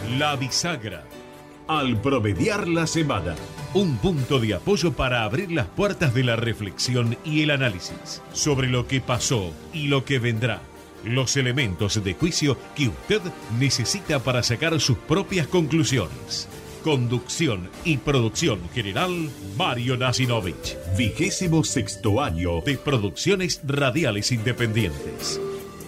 La Bisagra. Al promediar la semana. Un punto de apoyo para abrir las puertas de la reflexión y el análisis sobre lo que pasó y lo que vendrá. Los elementos de juicio que usted necesita para sacar sus propias conclusiones. Conducción y producción general, Mario Nasinovich. 26º año de Producciones Radiales Independientes.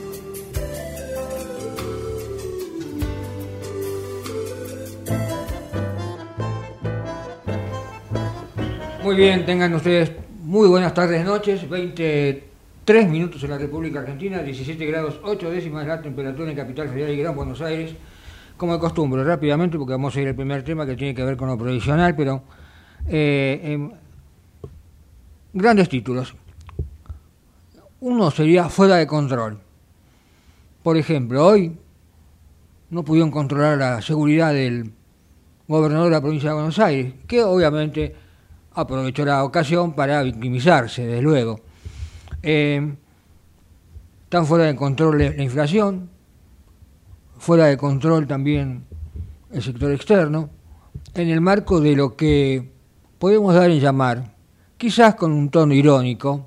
Muy bien, tengan ustedes muy buenas tardes, noches. 23 minutos en la República Argentina, 17 grados 8 décimas la temperatura en Capital Federal y Gran Buenos Aires. Como de costumbre, rápidamente, porque vamos a ir al primer tema que tiene que ver con lo provisional, pero grandes títulos. Uno sería fuera de control. Por ejemplo, hoy no pudieron controlar la seguridad del gobernador de la provincia de Buenos Aires, que obviamente aprovechó la ocasión para victimizarse, desde luego. Están fuera de control la inflación, fuera de control también el sector externo, en el marco de lo que podemos dar en llamar, quizás con un tono irónico,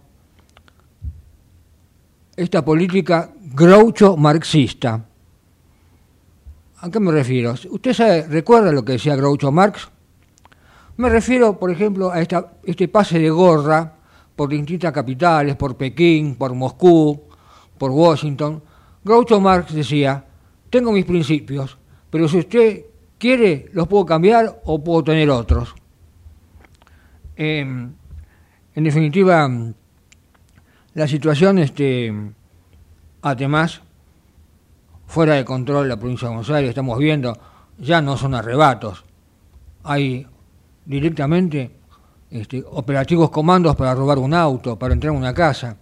esta política groucho-marxista. ¿A qué me refiero? ¿Usted recuerda lo que decía Groucho Marx? Me refiero, por ejemplo, a este pase de gorra por distintas capitales, por Pekín, por Moscú, por Washington. Groucho Marx decía: tengo mis principios, pero si usted quiere, los puedo cambiar o puedo tener otros. En definitiva, la situación, además, fuera de control de la provincia de Buenos Aires, estamos viendo, ya no son arrebatos. Hay directamente operativos comandos para robar un auto, para entrar a una casa.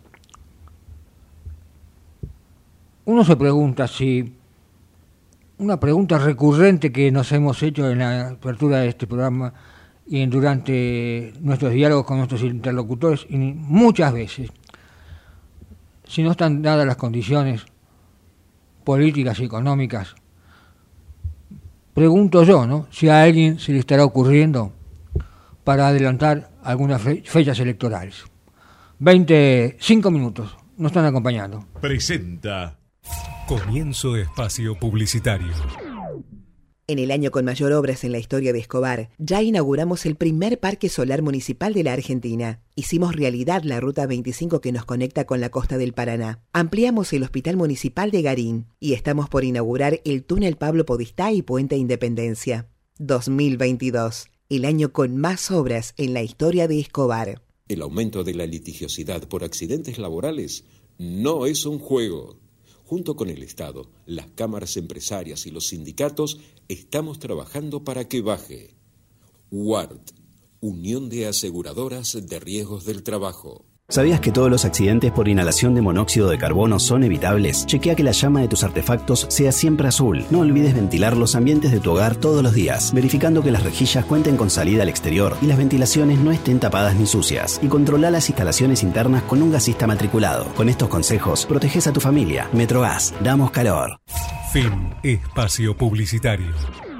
Uno se pregunta si, una pregunta recurrente que nos hemos hecho en la apertura de este programa y durante nuestros diálogos con nuestros interlocutores, y muchas veces, si no están dadas las condiciones políticas y económicas, pregunto yo, ¿no?, si a alguien se le estará ocurriendo para adelantar algunas fechas electorales. 25 minutos, nos están acompañando. Presenta. Comienzo espacio publicitario. En el año con mayor obras en la historia de Escobar, ya inauguramos el primer parque solar municipal de la Argentina. Hicimos realidad la Ruta 25 que nos conecta con la costa del Paraná. Ampliamos el Hospital Municipal de Garín y estamos por inaugurar el túnel Pablo Podestá y Puente Independencia. 2022, el año con más obras en la historia de Escobar. El aumento de la litigiosidad por accidentes laborales no es un juego. Junto con el Estado, las cámaras empresarias y los sindicatos, estamos trabajando para que baje. UART, Unión de Aseguradoras de Riesgos del Trabajo. ¿Sabías que todos los accidentes por inhalación de monóxido de carbono son evitables? Chequea que la llama de tus artefactos sea siempre azul. No olvides ventilar los ambientes de tu hogar todos los días, verificando que las rejillas cuenten con salida al exterior y las ventilaciones no estén tapadas ni sucias. Y controla las instalaciones internas con un gasista matriculado. Con estos consejos, proteges a tu familia. Metrogas, damos calor. Fin espacio publicitario.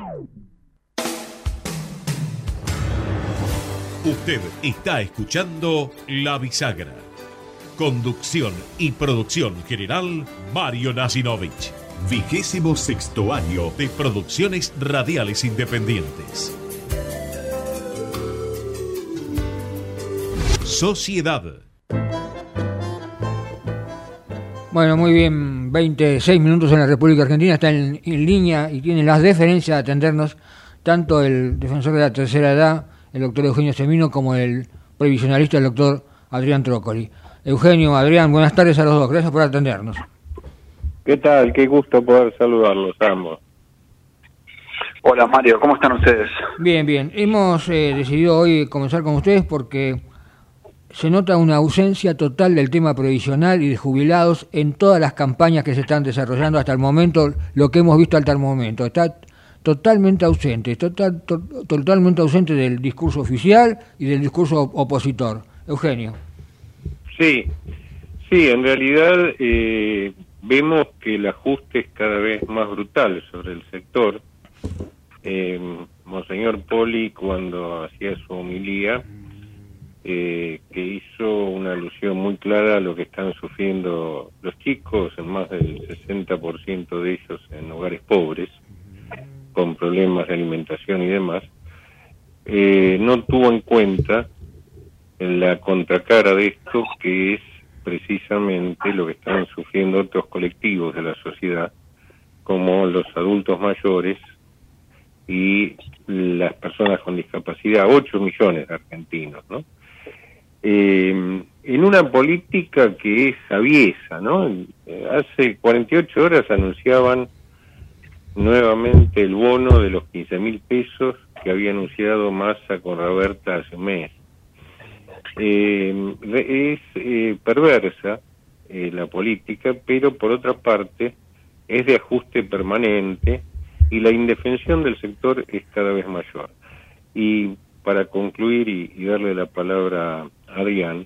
Usted está escuchando La Bisagra. Conducción y producción general, Mario Nasinovich. 26º año de Producciones Radiales Independientes. Sociedad. Bueno, muy bien, 26 minutos en la República Argentina, está en línea y tiene las deferencias de atendernos tanto el defensor de la tercera edad, el doctor Eugenio Semino, como el previsionalista, el doctor Adrián Trócoli. Eugenio, Adrián, buenas tardes a los dos, gracias por atendernos. ¿Qué tal? Qué gusto poder saludarlos ambos. Hola Mario, ¿cómo están ustedes? Bien, bien. Hemos decidido hoy comenzar con ustedes porque se nota una ausencia total del tema previsional y de jubilados en todas las campañas que se están desarrollando hasta el momento, lo que hemos visto hasta el momento. Está totalmente ausente, totalmente ausente del discurso oficial y del discurso opositor. Eugenio. Sí, en realidad vemos que el ajuste es cada vez más brutal sobre el sector Monseñor Poli, cuando hacía su homilía, que hizo una alusión muy clara a lo que están sufriendo los chicos, en más del 60% de ellos en hogares pobres, con problemas de alimentación y demás, no tuvo en cuenta la contracara de esto, que es precisamente lo que están sufriendo otros colectivos de la sociedad, como los adultos mayores y las personas con discapacidad, 8 millones de argentinos, ¿no? En una política que es aviesa, ¿no? Hace 48 horas anunciaban nuevamente el bono de los 15.000 pesos que había anunciado Massa con Raberta hace un mes. Es perversa la política, pero por otra parte es de ajuste permanente y la indefensión del sector es cada vez mayor. Y para concluir y darle la palabra a Adrián,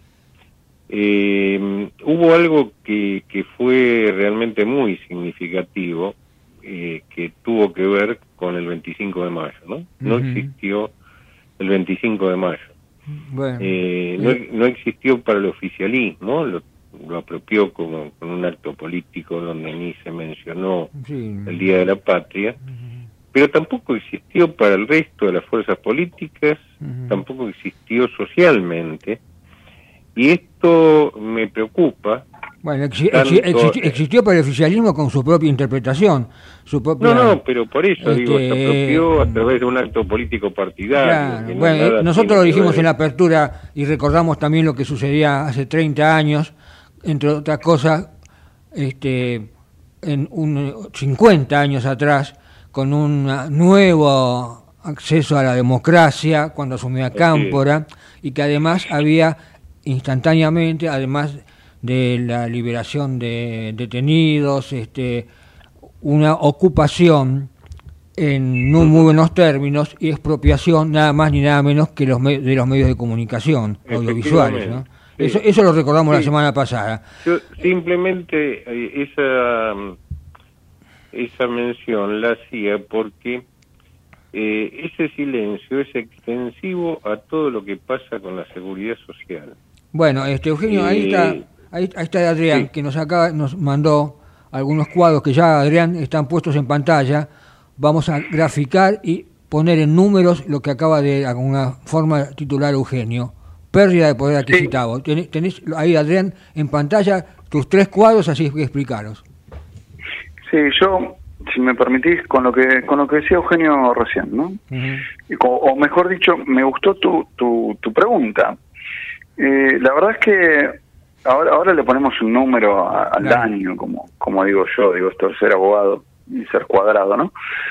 hubo algo que fue realmente muy significativo, que tuvo que ver con el 25 de mayo, ¿no? No existió el 25 de mayo. Bueno, no existió para el oficialismo, lo apropió como con un acto político donde ni se mencionó el Día de la Patria, pero tampoco existió para el resto de las fuerzas políticas, tampoco existió socialmente, y esto me preocupa. Bueno, existió para el oficialismo con su propia interpretación, su propia... No, pero por eso digo, se apropió a través de un acto político partidario. Claro, bueno, nosotros lo dijimos en la apertura y recordamos también lo que sucedía hace 30 años, entre otras cosas, en 50 años atrás, con un nuevo acceso a la democracia cuando asumió a Cámpora, y que además había instantáneamente, además de la liberación de detenidos, una ocupación en no muy buenos términos y expropiación nada más ni nada menos que de los medios de comunicación audiovisuales, ¿no? Sí. Eso lo recordamos la semana pasada. Yo simplemente esa mención la hacía porque ese silencio es extensivo a todo lo que pasa con la seguridad social. Bueno, Eugenio, ahí está Adrián, que nos mandó algunos cuadros que ya, Adrián, están puestos en pantalla. Vamos a graficar y poner en números lo que acaba de alguna forma titular Eugenio. Pérdida de poder adquisitivo. Tenés ahí, Adrián, en pantalla tus 3 cuadros, así que explicaros. Sí, yo, si me permitís, con lo que decía Eugenio recién, ¿no? O mejor dicho, me gustó tu pregunta. La verdad es que ahora le ponemos un número al daño, como digo yo, esto es ser abogado y ser cuadrado, ¿no?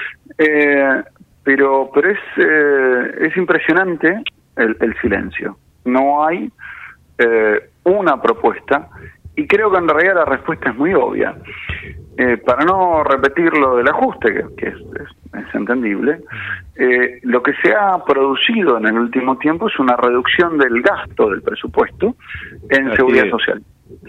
Pero es impresionante el silencio. No hay una propuesta, y creo que en realidad la respuesta es muy obvia. Para no repetir lo del ajuste, que es entendible, lo que se ha producido en el último tiempo es una reducción del gasto del presupuesto en seguridad social.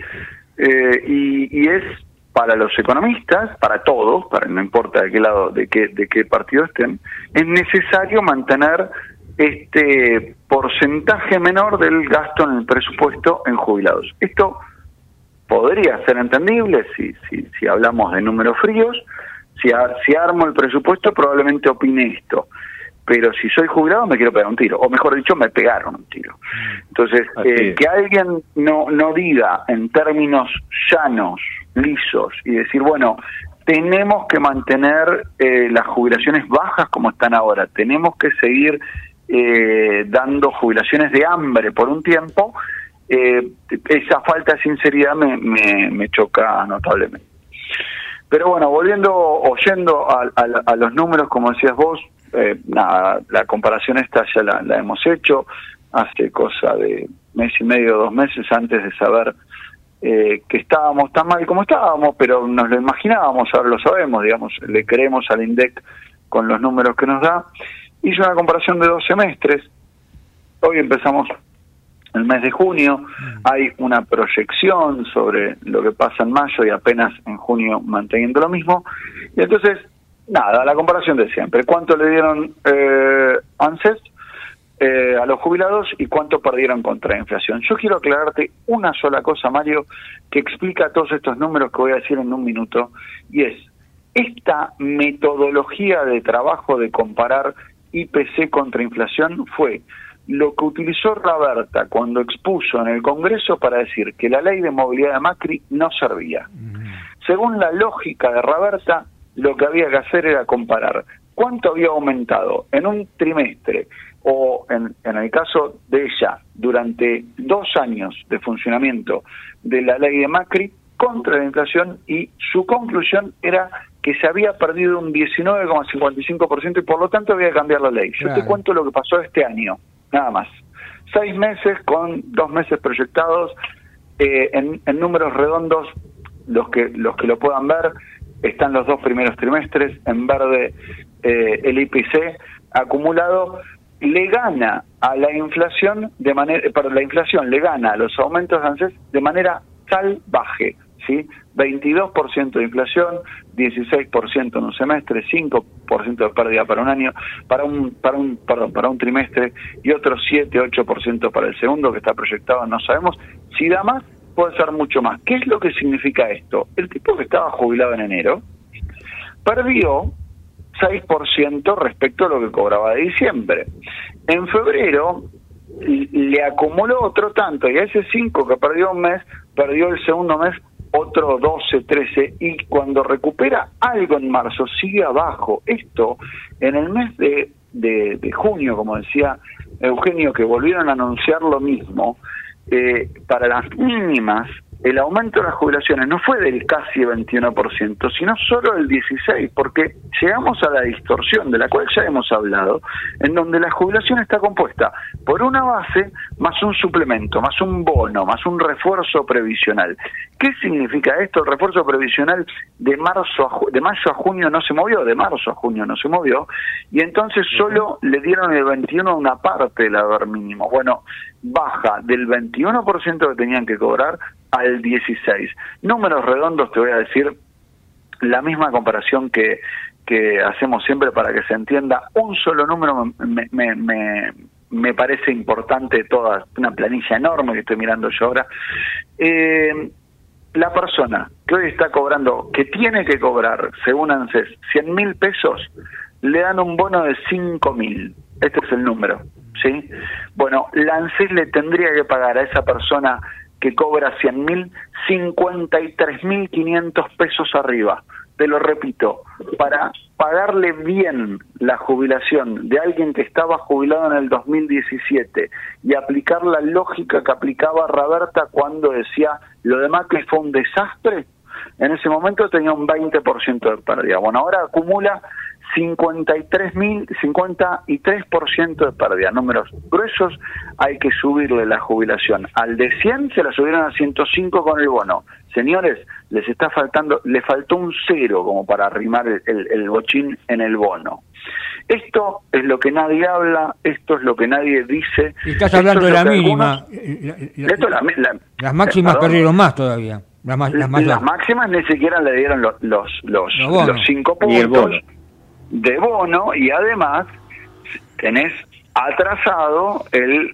Y es para los economistas, para todos, no importa de qué lado, de qué partido estén, es necesario mantener este porcentaje menor del gasto en el presupuesto en jubilados. Esto podría ser entendible si hablamos de números fríos. Si armo el presupuesto probablemente opine esto, pero si soy jubilado me quiero pegar un tiro, o mejor dicho, me pegaron un tiro. Entonces, que alguien no diga en términos llanos, lisos, y decir, bueno, tenemos que mantener las jubilaciones bajas como están ahora, tenemos que seguir dando jubilaciones de hambre por un tiempo, esa falta de sinceridad me choca notablemente. Pero bueno, oyendo a los números, como decías vos, la comparación esta ya la hemos hecho hace cosa de mes y medio, 2 meses, antes de saber que estábamos tan mal como estábamos, pero nos lo imaginábamos, ahora lo sabemos, digamos, le creemos al INDEC con los números que nos da. Hice una comparación de 2 semestres, hoy empezamos el mes de junio, hay una proyección sobre lo que pasa en mayo y apenas en junio manteniendo lo mismo, y entonces Nada, la comparación de siempre. ¿Cuánto le dieron ANSES a los jubilados y cuánto perdieron contra la inflación? Yo quiero aclararte una sola cosa, Mario, que explica todos estos números que voy a decir en un minuto, y es, esta metodología de trabajo de comparar IPC contra inflación fue lo que utilizó Raberta cuando expuso en el Congreso para decir que la ley de movilidad de Macri no servía. Según la lógica de Raberta, lo que había que hacer era comparar cuánto había aumentado en un trimestre o en el caso de ella durante 2 años de funcionamiento de la ley de Macri contra la inflación, y su conclusión era que se había perdido un 19,55% y por lo tanto había que cambiar la ley. Yo te cuento lo que pasó este año, nada más. 6 meses con 2 meses proyectados, en números redondos, los que lo puedan ver, están los 2 primeros trimestres, en verde el IPC acumulado le gana a la inflación la inflación le gana a los aumentos de ANSES de manera salvaje, ¿sí? 22% de inflación, 16% en un semestre, 5% de pérdida para un año, para un trimestre, y otro 7-8% para el segundo, que está proyectado, no sabemos. Si da más, puede ser mucho más. ¿Qué es lo que significa esto? El tipo que estaba jubilado en enero perdió 6% respecto a lo que cobraba de diciembre. En febrero le acumuló otro tanto, y a ese 5 que perdió un mes, perdió el segundo mes otro 12, 13, y cuando recupera algo en marzo sigue abajo. Esto en el mes de junio, como decía Eugenio, que volvieron a anunciar lo mismo, para las mínimas, el aumento de las jubilaciones no fue del casi 21%, sino solo del 16%, porque llegamos a la distorsión de la cual ya hemos hablado, en donde la jubilación está compuesta por una base más un suplemento, más un bono, más un refuerzo previsional. ¿Qué significa esto? El refuerzo previsional de mayo a junio no se movió, de marzo a junio no se movió, y entonces solo le dieron el 21% a una parte del haber mínimo. Bueno, baja del 21% que tenían que cobrar al 16%. Números redondos, te voy a decir la misma comparación que hacemos siempre para que se entienda. Un solo número me parece importante, toda una planilla enorme que estoy mirando yo ahora. La persona que hoy está cobrando, que tiene que cobrar, según ANSES, 100.000 pesos, le dan un bono de 5.000. Este es el número, ¿sí? Bueno, la ANSES le tendría que pagar a esa persona que cobra 100.000, 53.500 pesos arriba. Te lo repito, para pagarle bien la jubilación de alguien que estaba jubilado en el 2017 y aplicar la lógica que aplicaba Raberta cuando decía lo de Macri fue un desastre, en ese momento tenía un 20% de pérdida. Bueno, ahora acumula 53% de pérdida. Números gruesos, hay que subirle la jubilación. Al de 100 se la subieron a 105 con el bono. Señores, le faltó un 0 como para arrimar el bochín en el bono. Esto es lo que nadie habla, esto es lo que nadie dice. Y estás hablando de la mínima. Las máximas perdieron más todavía. Las máximas ni siquiera le dieron los 5 puntos de bono, y además tenés atrasado el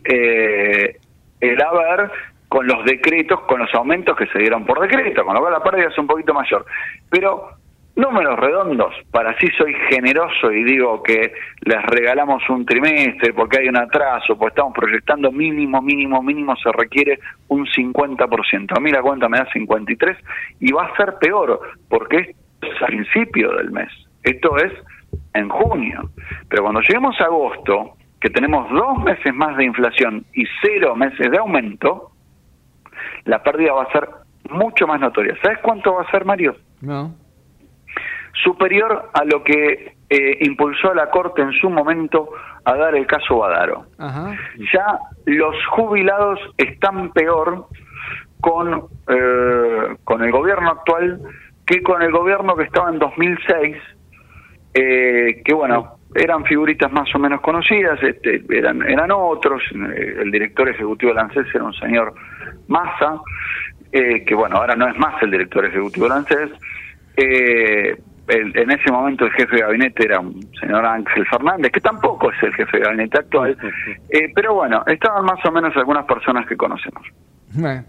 haber con los decretos, con los aumentos que se dieron por decreto, con lo cual la pérdida es un poquito mayor. Pero números redondos, para así soy generoso y digo que les regalamos un trimestre porque hay un atraso, porque estamos proyectando mínimo se requiere un 50%. A mí la cuenta me da 53 y va a ser peor porque esto es al principio del mes, esto es en junio. Pero cuando lleguemos a agosto, que tenemos 2 meses más de inflación y 0 meses de aumento, la pérdida va a ser mucho más notoria. ¿Sabes cuánto va a ser, Mario? No. Superior a lo que impulsó a la Corte en su momento a dar el caso Badaro. Ajá. Ya los jubilados están peor con el gobierno actual que con el gobierno que estaba en 2006, que bueno, eran figuritas más o menos conocidas, eran otros. El director ejecutivo de la ANSES era un señor Massa, que bueno, ahora no es más el director ejecutivo de la ANSES. en ese momento el jefe de gabinete era un señor Ángel Fernández, que tampoco es el jefe de gabinete actual, pero bueno, estaban más o menos algunas personas que conocemos. Bueno,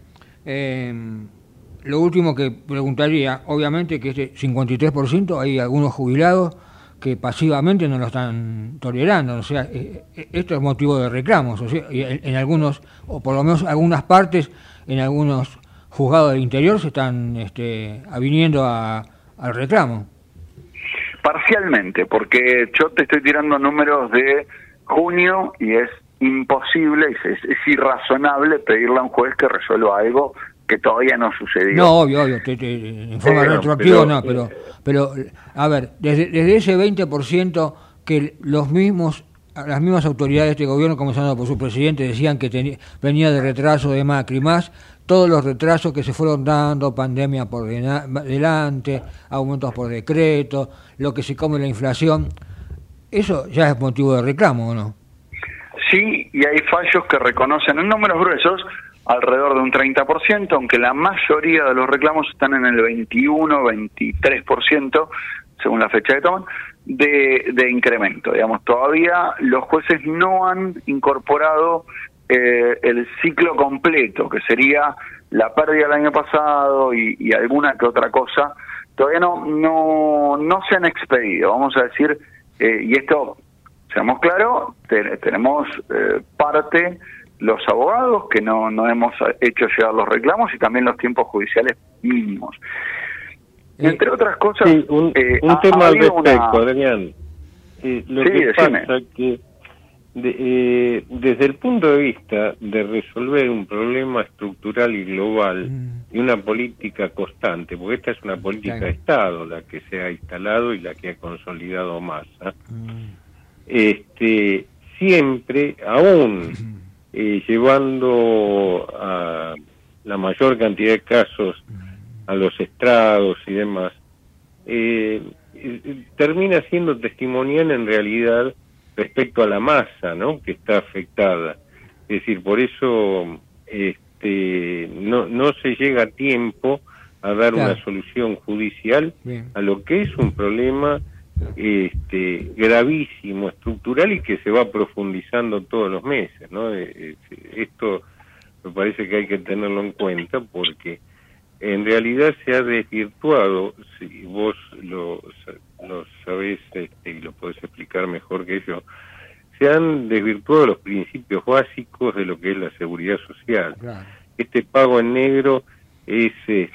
lo último que preguntaría, obviamente que este 53% hay algunos jubilados que pasivamente no lo están tolerando, o sea, esto es motivo de reclamos, o sea, en algunos, o por lo menos algunas partes, en algunos juzgados del interior se están aviniendo al reclamo. Parcialmente, porque yo te estoy tirando números de junio y es imposible, es irrazonable pedirle a un juez que resuelva algo que todavía no sucedió. No, obvio, en forma retroactiva no, pero a ver, desde ese 20% que las mismas autoridades de este gobierno, comenzando por su presidente, decían que venía de retraso de Macri, más todos los retrasos que se fueron dando, pandemia por delante, aumentos por decreto, lo que se come la inflación, eso ya es motivo de reclamo, ¿o no? Sí, y hay fallos que reconocen en números gruesos alrededor de un 30%, aunque la mayoría de los reclamos están en el 21-23%, según la fecha que toman, de incremento. Digamos, todavía los jueces no han incorporado el ciclo completo, que sería la pérdida del año pasado y alguna que otra cosa. Todavía no se han expedido, vamos a decir, y esto, seamos claros, tenemos parte los abogados que no hemos hecho llegar los reclamos y también los tiempos judiciales mínimos. Entre otras cosas, sí, un tema al respecto, Adrián. Lo que pasa que desde el punto de vista de resolver un problema estructural y global y una política constante, porque esta es una política de Estado la que se ha instalado y la que ha consolidado Massa, siempre, aún llevando a la mayor cantidad de casos a los estrados y demás, termina siendo testimonial en realidad respecto a la masa, ¿no?, que está afectada. Es decir, por eso no se llega a tiempo a dar una solución judicial a lo que es un problema gravísimo, estructural y que se va profundizando todos los meses, ¿no? Esto me parece que hay que tenerlo en cuenta porque en realidad se ha desvirtuado, si vos lo sabés y lo podés explicar mejor que yo, se han desvirtuado los principios básicos de lo que es la seguridad social. Claro. Este pago en negro es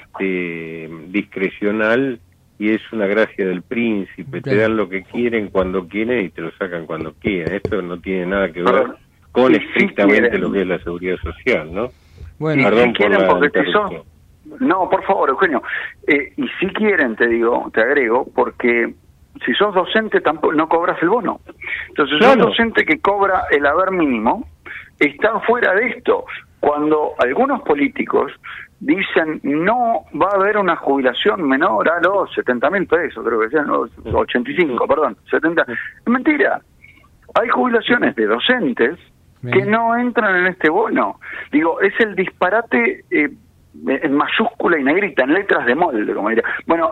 discrecional y es una gracia del príncipe, te dan lo que quieren cuando quieren y te lo sacan cuando quieren. Esto no tiene nada que ver con estrictamente lo que es la seguridad social, ¿no? Bueno, perdón por la interrupción. No, por favor, Eugenio. Y si quieren, te agrego, porque si sos docente tampoco no cobras el bono. Entonces, sos docente que cobra el haber mínimo, está fuera de esto. Cuando algunos políticos dicen no va a haber una jubilación menor a los 70.000 pesos, creo que sean los 85, perdón, 70. Es mentira. Hay jubilaciones de docentes que no entran en este bono. Digo, es el disparate en mayúscula y negrita, en letras de molde, como diría. Bueno,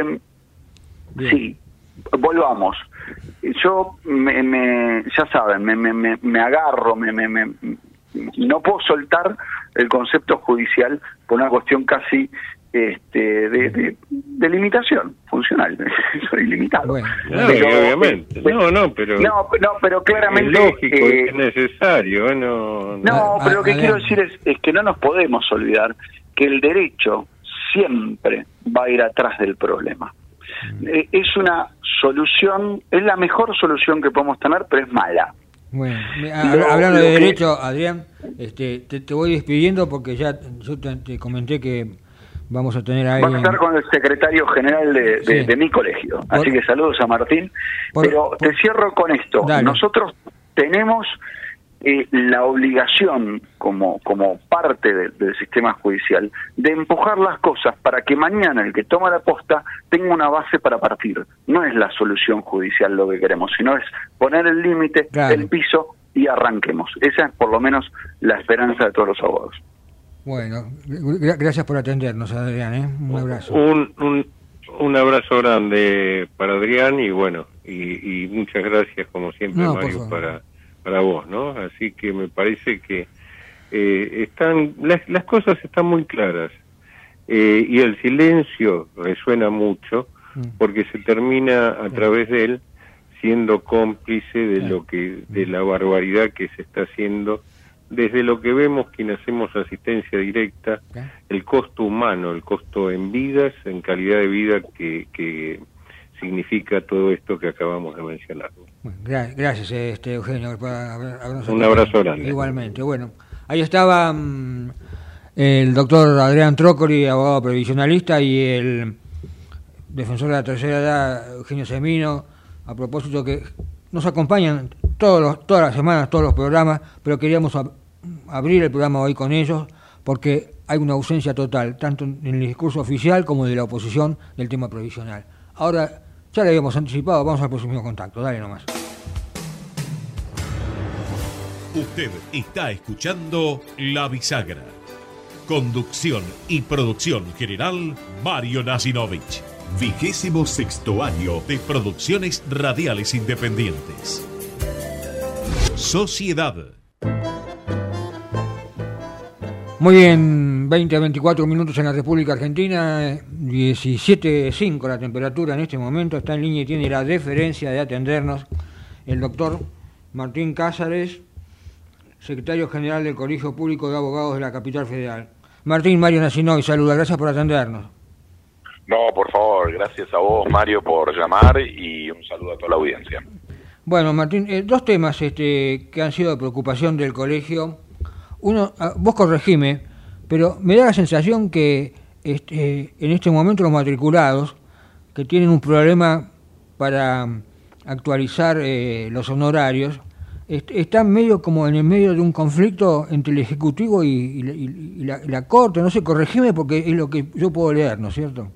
sí, volvamos. Yo ya saben, me agarro, no puedo soltar el concepto judicial por una cuestión casi de limitación funcional. Soy limitado. Bueno, obviamente. Pero claramente es lógico, es necesario. Pero lo que quiero decir es que no nos podemos olvidar que el derecho siempre va a ir atrás del problema. Es una solución, es la mejor solución que podemos tener, pero es mala. Bueno, hablando de derecho, Adrián, te voy despidiendo porque ya yo te comenté que vamos a tener ahí... Vas a estar con el secretario general de mi colegio, así que saludos a Martín. Pero te cierro con esto. Dale. Nosotros tenemos la obligación, como parte del sistema judicial, de empujar las cosas para que mañana el que toma la posta tenga una base para partir. No es la solución judicial lo que queremos, sino es poner el límite, el piso y arranquemos. Esa es por lo menos la esperanza de todos los abogados. Bueno, gracias por atendernos, Adrián, Un abrazo. Un abrazo grande para Adrián y bueno, y muchas gracias como siempre, Mario, para vos, ¿no? Así que me parece que las cosas están muy claras y el silencio resuena mucho porque se termina a través de él siendo cómplice de la barbaridad que se está haciendo desde lo que vemos quienes hacemos asistencia directa, el costo humano, el costo en vidas, en calidad de vida que significa todo esto que acabamos de mencionar. Bueno, gracias, Eugenio, por habernos un abrazo grande. Igualmente. Bueno, ahí estaba el doctor Adrián Trócoli, abogado previsionalista, y el defensor de la tercera edad, Eugenio Semino, a propósito que nos acompañan todas las semanas, todos los programas, pero queríamos abrir el programa hoy con ellos porque hay una ausencia total, tanto en el discurso oficial como de la oposición del tema provisional. Ahora, ya lo habíamos anticipado, vamos al próximo contacto, dale nomás. Usted está escuchando La Bisagra. Conducción y producción general, Mario Nasinovich. 26º año de Producciones Radiales Independientes. Sociedad. Muy bien, 20 a 24 minutos en la República Argentina, 17.5 la temperatura en este momento. Está en línea y tiene la deferencia de atendernos el doctor Martín Cázares, secretario general del Colegio Público de Abogados de la Capital Federal. Martín, Mario Nasinovich, saluda, gracias por atendernos. No, por favor, gracias a vos, Mario, por llamar y un saludo a toda la audiencia. Bueno, Martín, dos temas que han sido de preocupación del colegio. Uno, vos corregime, pero me da la sensación que en este momento los matriculados que tienen un problema para actualizar los honorarios están medio como en el medio de un conflicto entre el Ejecutivo y la Corte. No sé, corregime porque es lo que yo puedo leer, ¿no es cierto?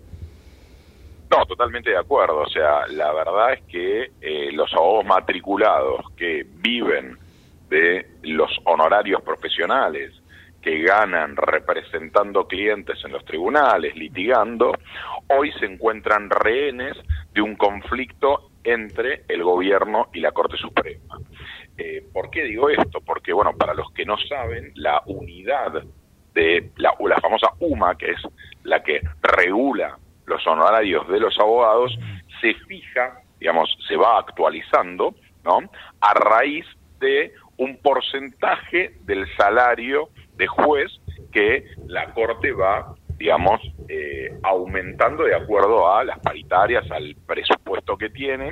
No, totalmente de acuerdo. O sea, la verdad es que los abogados matriculados que viven de los honorarios profesionales, que ganan representando clientes en los tribunales, litigando, hoy se encuentran rehenes de un conflicto entre el gobierno y la Corte Suprema. ¿Por qué digo esto? Porque, bueno, para los que no saben, la unidad de la famosa UMA, que es la que regula los honorarios de los abogados, se fija, digamos, se va actualizando, ¿no?, a raíz de un porcentaje del salario de juez que la Corte va, digamos, aumentando de acuerdo a las paritarias, al presupuesto que tiene,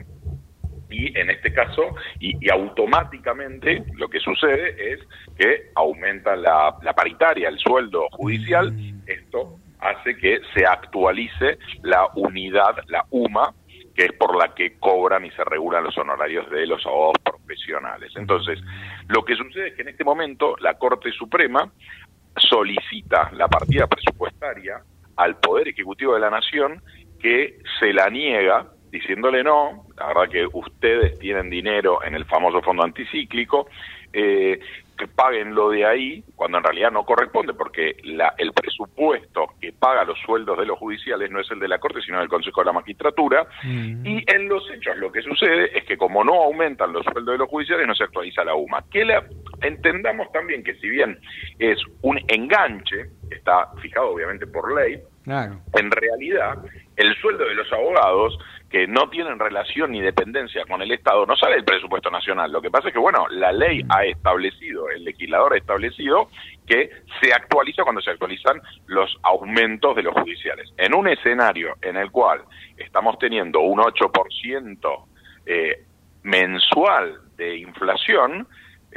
y en este caso, y automáticamente lo que sucede es que aumenta la paritaria, el sueldo judicial. Esto hace que se actualice la unidad, la UMA, que es por la que cobran y se regulan los honorarios de los abogados profesionales. Entonces, lo que sucede es que en este momento la Corte Suprema solicita la partida presupuestaria al Poder Ejecutivo de la Nación, que se la niega, diciéndole no, la verdad que ustedes tienen dinero en el famoso fondo anticíclico, que paguen lo de ahí, cuando en realidad no corresponde, porque el presupuesto que paga los sueldos de los judiciales no es el de la Corte, sino del Consejo de la Magistratura, y en los hechos lo que sucede es que como no aumentan los sueldos de los judiciales, no se actualiza la UMA. Entendamos también que si bien es un enganche, está fijado obviamente por ley, claro, en realidad el sueldo de los abogados que no tienen relación ni dependencia con el Estado no sale del presupuesto nacional. Lo que pasa es que, bueno, la ley ha establecido, el legislador ha establecido que se actualiza cuando se actualizan los aumentos de los judiciales. En un escenario en el cual estamos teniendo un 8% mensual de inflación,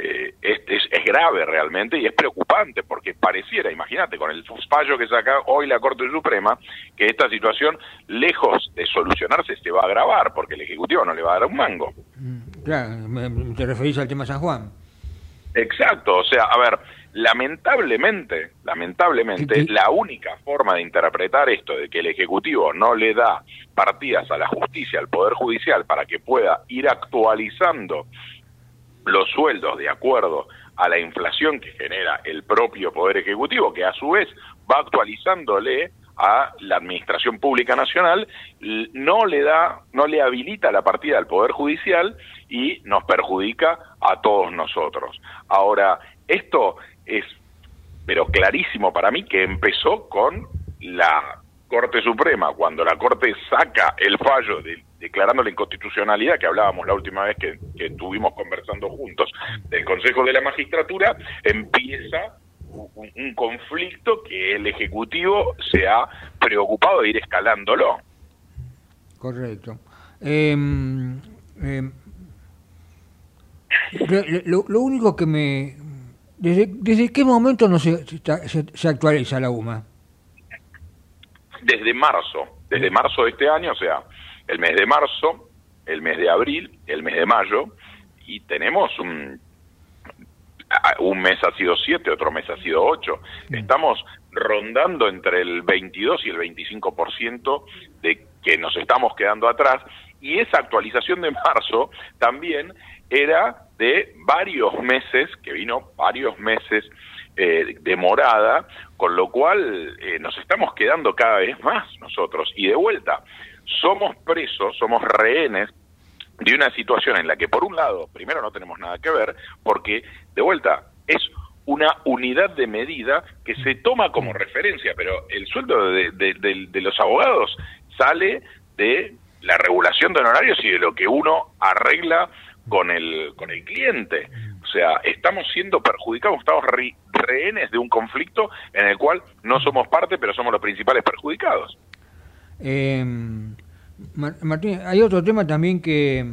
es grave realmente y es preocupante, porque pareciera, imagínate, con el fallo que saca hoy la Corte Suprema, que esta situación, lejos de solucionarse, se va a agravar, porque el Ejecutivo no le va a dar un mango. Claro, te referís al tema San Juan. Exacto, o sea, a ver, lamentablemente, la única forma de interpretar esto, de que el Ejecutivo no le da partidas a la justicia, al Poder Judicial, para que pueda ir actualizando los sueldos de acuerdo a la inflación que genera el propio Poder Ejecutivo, que a su vez va actualizándole a la Administración Pública Nacional, no le habilita la partida al Poder Judicial y nos perjudica a todos nosotros. Ahora, esto es, pero clarísimo para mí, que empezó con la Corte Suprema, cuando la Corte saca el fallo declarando la inconstitucionalidad, que hablábamos la última vez que estuvimos conversando juntos, del Consejo de la Magistratura, empieza un conflicto que el Ejecutivo se ha preocupado de ir escalándolo. Correcto. Lo único que me... ¿Desde qué momento no se actualiza la UMA? Desde marzo de este año, o sea, el mes de marzo, el mes de abril, el mes de mayo, y tenemos un mes ha sido 7, otro mes ha sido 8. Estamos rondando entre el 22 y el 25% de que nos estamos quedando atrás, y esa actualización de marzo también era de varios meses, que vino varios meses demorada, con lo cual nos estamos quedando cada vez más nosotros, y de vuelta, somos presos, somos rehenes de una situación en la que, por un lado, primero no tenemos nada que ver, porque, de vuelta, es una unidad de medida que se toma como referencia, pero el sueldo de los abogados sale de la regulación de honorarios y de lo que uno arregla con el cliente. O sea, estamos siendo perjudicados, estamos rehenes de un conflicto en el cual no somos parte, pero somos los principales perjudicados. Martín, hay otro tema también que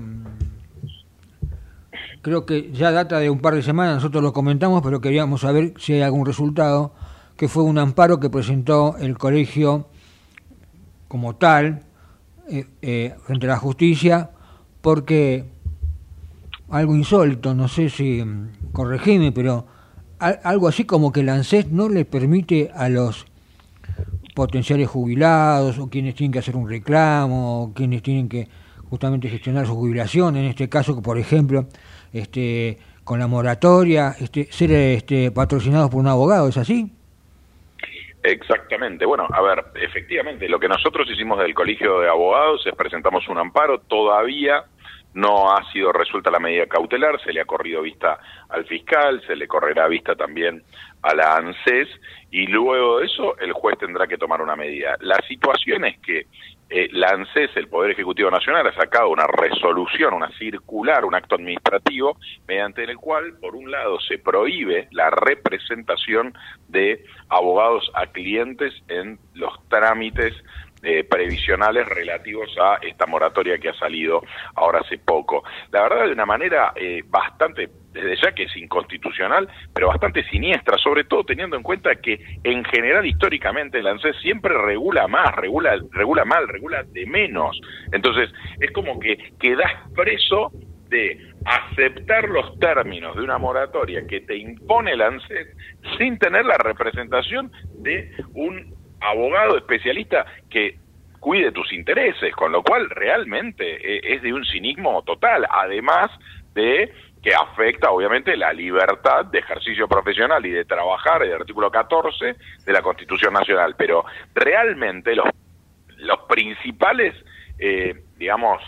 creo que ya data de un par de semanas, nosotros lo comentamos, pero queríamos saber si hay algún resultado, que fue un amparo que presentó el colegio como tal frente a la justicia, porque algo insólito, no sé si corregime, pero algo así como que el ANSES no le permite a los potenciales jubilados, o quienes tienen que hacer un reclamo, o quienes tienen que justamente gestionar su jubilación, en este caso, por ejemplo, con la moratoria, ser patrocinados por un abogado, ¿es así? Exactamente. Bueno, a ver, efectivamente, lo que nosotros hicimos del Colegio de Abogados es presentamos un amparo. Todavía no ha sido resuelta la medida cautelar, se le ha corrido vista al fiscal, se le correrá vista también a la ANSES, y luego de eso el juez tendrá que tomar una medida. La situación es que la ANSES, el Poder Ejecutivo Nacional, ha sacado una resolución, una circular, un acto administrativo, mediante el cual, por un lado, se prohíbe la representación de abogados a clientes en los trámites previsionales relativos a esta moratoria que ha salido ahora hace poco. La verdad, de una manera bastante, desde ya que es inconstitucional, pero bastante siniestra, sobre todo teniendo en cuenta que en general históricamente el ANSES siempre regula más, regula mal, regula de menos. Entonces es como que quedás preso de aceptar los términos de una moratoria que te impone el ANSES sin tener la representación de un abogado especialista que cuide tus intereses, con lo cual realmente es de un cinismo total, además de que afecta obviamente la libertad de ejercicio profesional y de trabajar, el artículo 14 de la Constitución Nacional. Pero realmente los principales, digamos,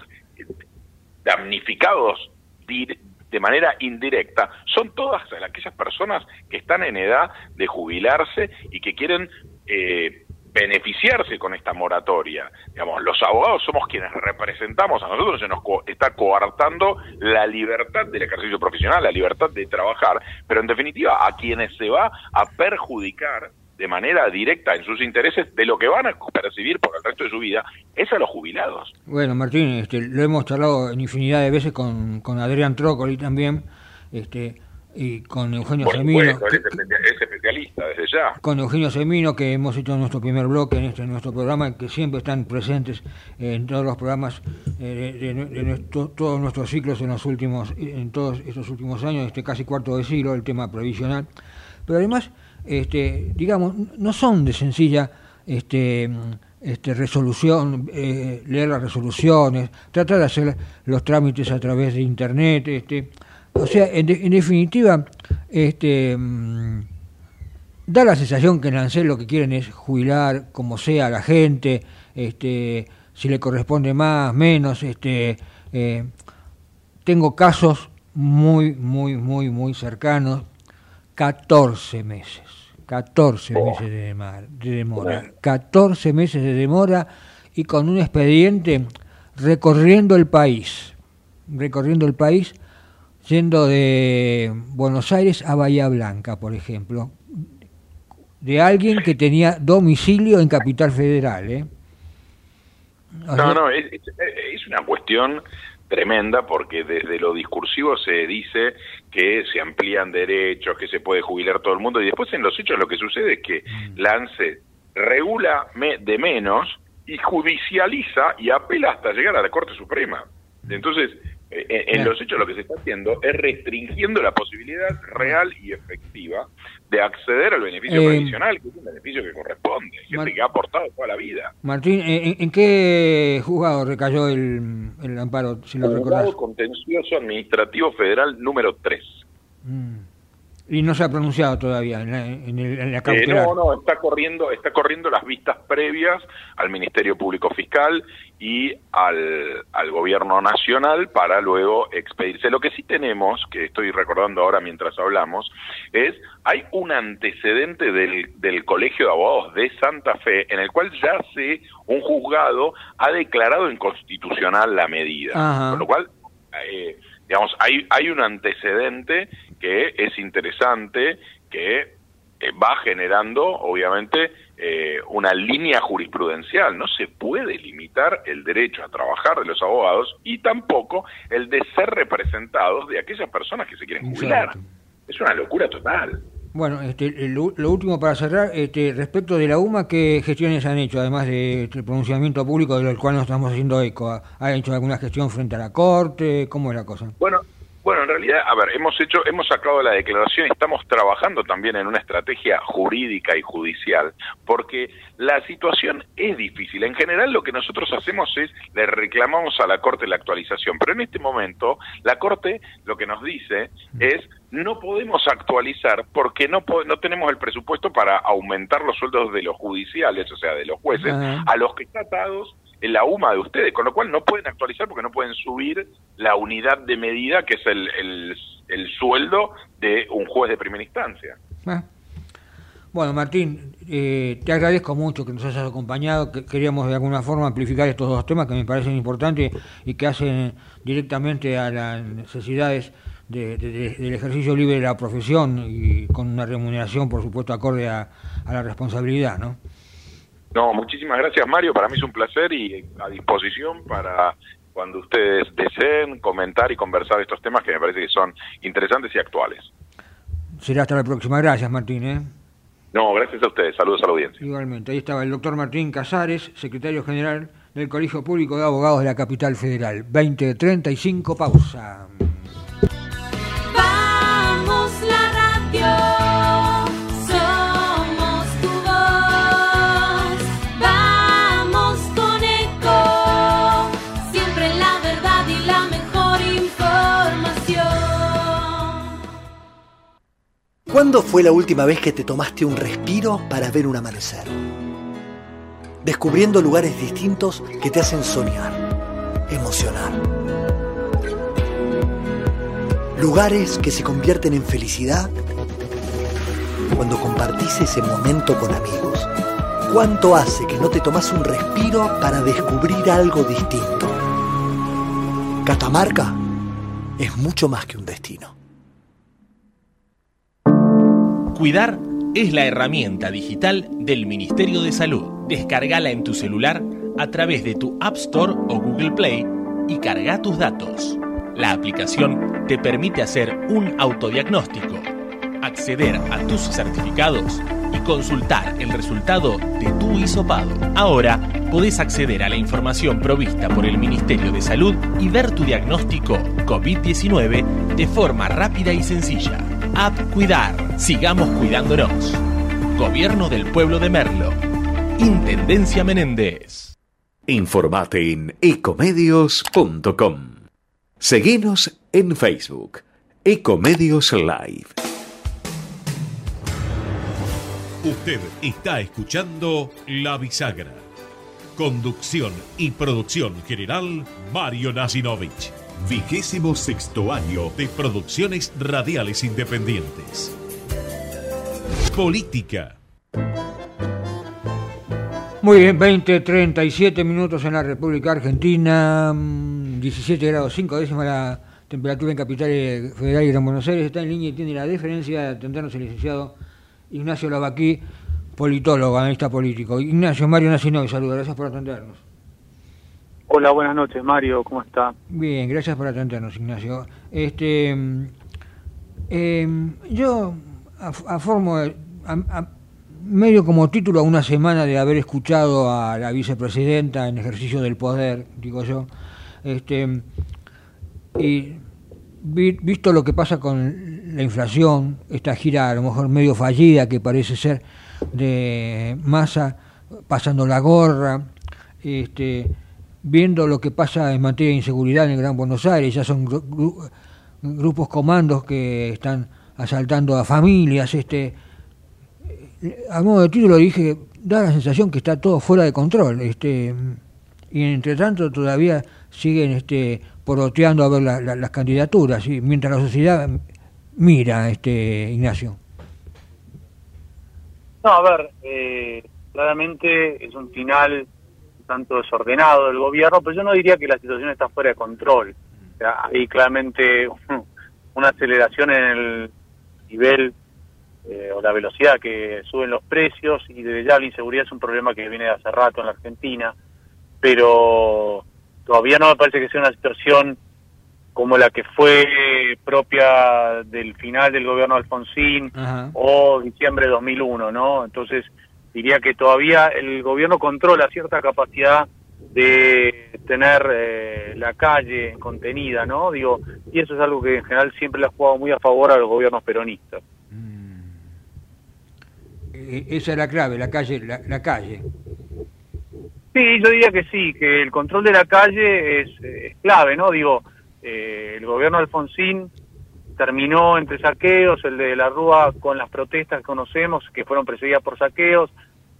damnificados de manera indirecta son todas aquellas personas que están en edad de jubilarse y que quieren beneficiarse con esta moratoria. Digamos, los abogados somos quienes representamos, a nosotros se nos está coartando la libertad del ejercicio profesional, la libertad de trabajar, pero en definitiva a quienes se va a perjudicar de manera directa en sus intereses de lo que van a percibir por el resto de su vida es a los jubilados. Bueno, Martín, lo hemos charlado en infinidad de veces con Adrián Trócoli también, y con Eugenio Semino, es especialista desde ya. Con Eugenio Semino, que hemos hecho nuestro primer bloque en nuestro programa, que siempre están presentes en todos los programas todos nuestros ciclos en todos estos últimos años, casi cuarto de siglo, el tema previsional. Pero además, digamos, no son de sencilla resolución, leer las resoluciones, tratar de hacer los trámites a través de internet, o sea, en definitiva, da la sensación que en ANSES lo que quieren es jubilar como sea a la gente, si le corresponde más, menos. Tengo casos muy cercanos, 14 meses de demora, 14 meses de demora y con un expediente recorriendo el país, yendo de Buenos Aires a Bahía Blanca, por ejemplo, de alguien que tenía domicilio en Capital Federal. Es una cuestión tremenda, porque desde lo discursivo se dice que se amplían derechos, que se puede jubilar todo el mundo, y después en los hechos lo que sucede es que la ANSES regula de menos y judicializa y apela hasta llegar a la Corte Suprema. Entonces, en los hechos lo que se está haciendo es restringiendo la posibilidad real y efectiva de acceder al beneficio previsional, que es un beneficio que corresponde, gente que ha aportado toda la vida. Martín, ¿en qué juzgado recayó el amparo, si lo recordás? Juzgado Contencioso Administrativo Federal número 3. Y no se ha pronunciado todavía en la cautelar. No, está corriendo las vistas previas al Ministerio Público Fiscal y al Gobierno Nacional para luego expedirse. Lo que sí tenemos, que estoy recordando ahora mientras hablamos, hay un antecedente del Colegio de Abogados de Santa Fe, en el cual ya un juzgado ha declarado inconstitucional la medida. Ajá. Con lo cual, hay un antecedente que es interesante, que va generando, obviamente, una línea jurisprudencial. No se puede limitar el derecho a trabajar de los abogados y tampoco el de ser representados de aquellas personas que se quieren jubilar. Exacto. Es una locura total. Bueno, lo último para cerrar, respecto de la UMA, ¿qué gestiones han hecho, además del pronunciamiento público del cual nos estamos haciendo eco? ¿Ha hecho alguna gestión frente a la Corte? ¿Cómo es la cosa? Bueno, en realidad, hemos sacado la declaración y estamos trabajando también en una estrategia jurídica y judicial, porque la situación es difícil. En general, lo que nosotros hacemos es, le reclamamos a la Corte la actualización, pero en este momento, la Corte lo que nos dice es, no podemos actualizar porque no tenemos el presupuesto para aumentar los sueldos de los judiciales, o sea, de los jueces, a los que están atados en la UMA de ustedes, con lo cual no pueden actualizar porque no pueden subir la unidad de medida que es el sueldo de un juez de primera instancia. Bueno, Martín, te agradezco mucho que nos hayas acompañado. Queríamos de alguna forma amplificar estos dos temas que me parecen importantes y que hacen directamente a las necesidades del ejercicio libre de la profesión y con una remuneración, por supuesto, acorde a la responsabilidad, ¿no? No, muchísimas gracias, Mario. Para mí es un placer y a disposición para cuando ustedes deseen comentar y conversar estos temas que me parece que son interesantes y actuales. Será hasta la próxima. Gracias, Martín. No, gracias a ustedes. Saludos a la audiencia. Igualmente. Ahí estaba el doctor Martín Casares, secretario general del Colegio Público de Abogados de la Capital Federal. 20:35, pausa. Vamos la radio. ¿Cuándo fue la última vez que te tomaste un respiro para ver un amanecer? Descubriendo lugares distintos que te hacen soñar, emocionar. Lugares que se convierten en felicidad cuando compartís ese momento con amigos. ¿Cuánto hace que no te tomás un respiro para descubrir algo distinto? Catamarca es mucho más que un destino. Cuidar es la herramienta digital del Ministerio de Salud. Descárgala en tu celular a través de tu App Store o Google Play y carga tus datos. La aplicación te permite hacer un autodiagnóstico, acceder a tus certificados y consultar el resultado de tu hisopado. Ahora podés acceder a la información provista por el Ministerio de Salud y ver tu diagnóstico COVID-19 de forma rápida y sencilla. App Cuidar. Sigamos cuidándonos. Gobierno del Pueblo de Merlo. Intendencia Menéndez. Informate en ecomedios.com. Seguinos en Facebook. Ecomedios Live. Usted está escuchando La Bisagra. Conducción y producción general, Mario Nasinovich. 26º año de Producciones Radiales Independientes. Política. Muy bien, 20:37 minutos en la República Argentina, 17 grados 5 décimas la temperatura en Capital Federal y Gran Buenos Aires. Está en línea y tiene la deferencia de atendernos el licenciado Ignacio Lavaquí, politólogo, analista político. Ignacio, Mario Nasinovich, saludos, gracias por atendernos. Hola, buenas noches, Mario, ¿cómo está? Bien, gracias por atendernos, Ignacio. Yo medio como título a una semana de haber escuchado a la vicepresidenta en ejercicio del poder, digo yo, y visto lo que pasa con la inflación, esta gira a lo mejor medio fallida que parece ser de Massa pasando la gorra, viendo lo que pasa en materia de inseguridad en el Gran Buenos Aires, ya son grupos comandos que están asaltando a familias, a modo de título dije, da la sensación que está todo fuera de control, y entre tanto todavía siguen poroteando a ver las candidaturas, ¿sí? Mientras la sociedad mira, Ignacio. No, a ver, claramente es un final tanto desordenado del gobierno, pero yo no diría que la situación está fuera de control. O sea, hay claramente una aceleración en el nivel o la velocidad que suben los precios, y desde ya la inseguridad es un problema que viene de hace rato en la Argentina, pero todavía no me parece que sea una situación como la que fue propia del final del gobierno de Alfonsín. Ajá. O diciembre de 2001, ¿no? Entonces diría que todavía el gobierno controla cierta capacidad de tener la calle contenida, ¿no? Digo, y eso es algo que en general siempre le ha jugado muy a favor a los gobiernos peronistas. Esa es la clave, la calle. Sí, yo diría que sí, que el control de la calle es clave, ¿no? Digo, el gobierno de Alfonsín terminó entre saqueos, el de la Rúa con las protestas que conocemos, que fueron precedidas por saqueos.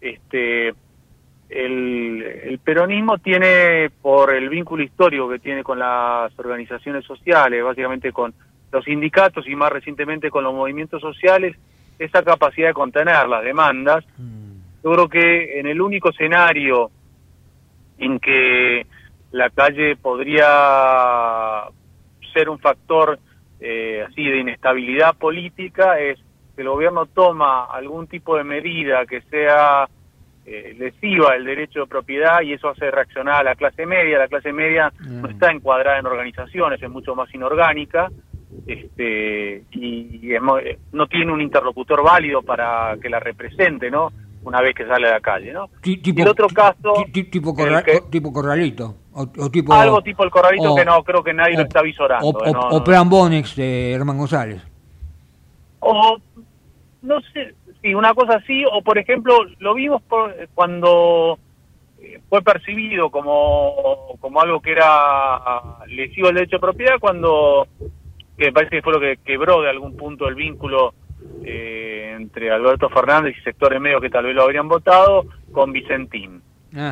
El peronismo tiene, por el vínculo histórico que tiene con las organizaciones sociales, básicamente con los sindicatos y más recientemente con los movimientos sociales, esa capacidad de contener las demandas. Yo creo que en el único escenario en que la calle podría ser un factor así de inestabilidad política es que el gobierno toma algún tipo de medida que sea lesiva del derecho de propiedad, y eso hace reaccionar a la clase media. La clase media no está encuadrada en organizaciones, es mucho más inorgánica, y no tiene un interlocutor válido para que la represente, ¿no? Una vez que sale a la calle, ¿no? Tipo, y el otro caso... Tipo Corralito. O tipo, algo tipo el Corralito, que no creo que nadie lo está visorando. O Plan Bonex de Herman González. O, no sé, sí, una cosa así, o por ejemplo, lo vimos cuando fue percibido como algo que era lesivo al derecho de propiedad, cuando, que me parece que fue lo que quebró de algún punto el vínculo entre Alberto Fernández y sectores medios que tal vez lo habrían votado, con Vicentín.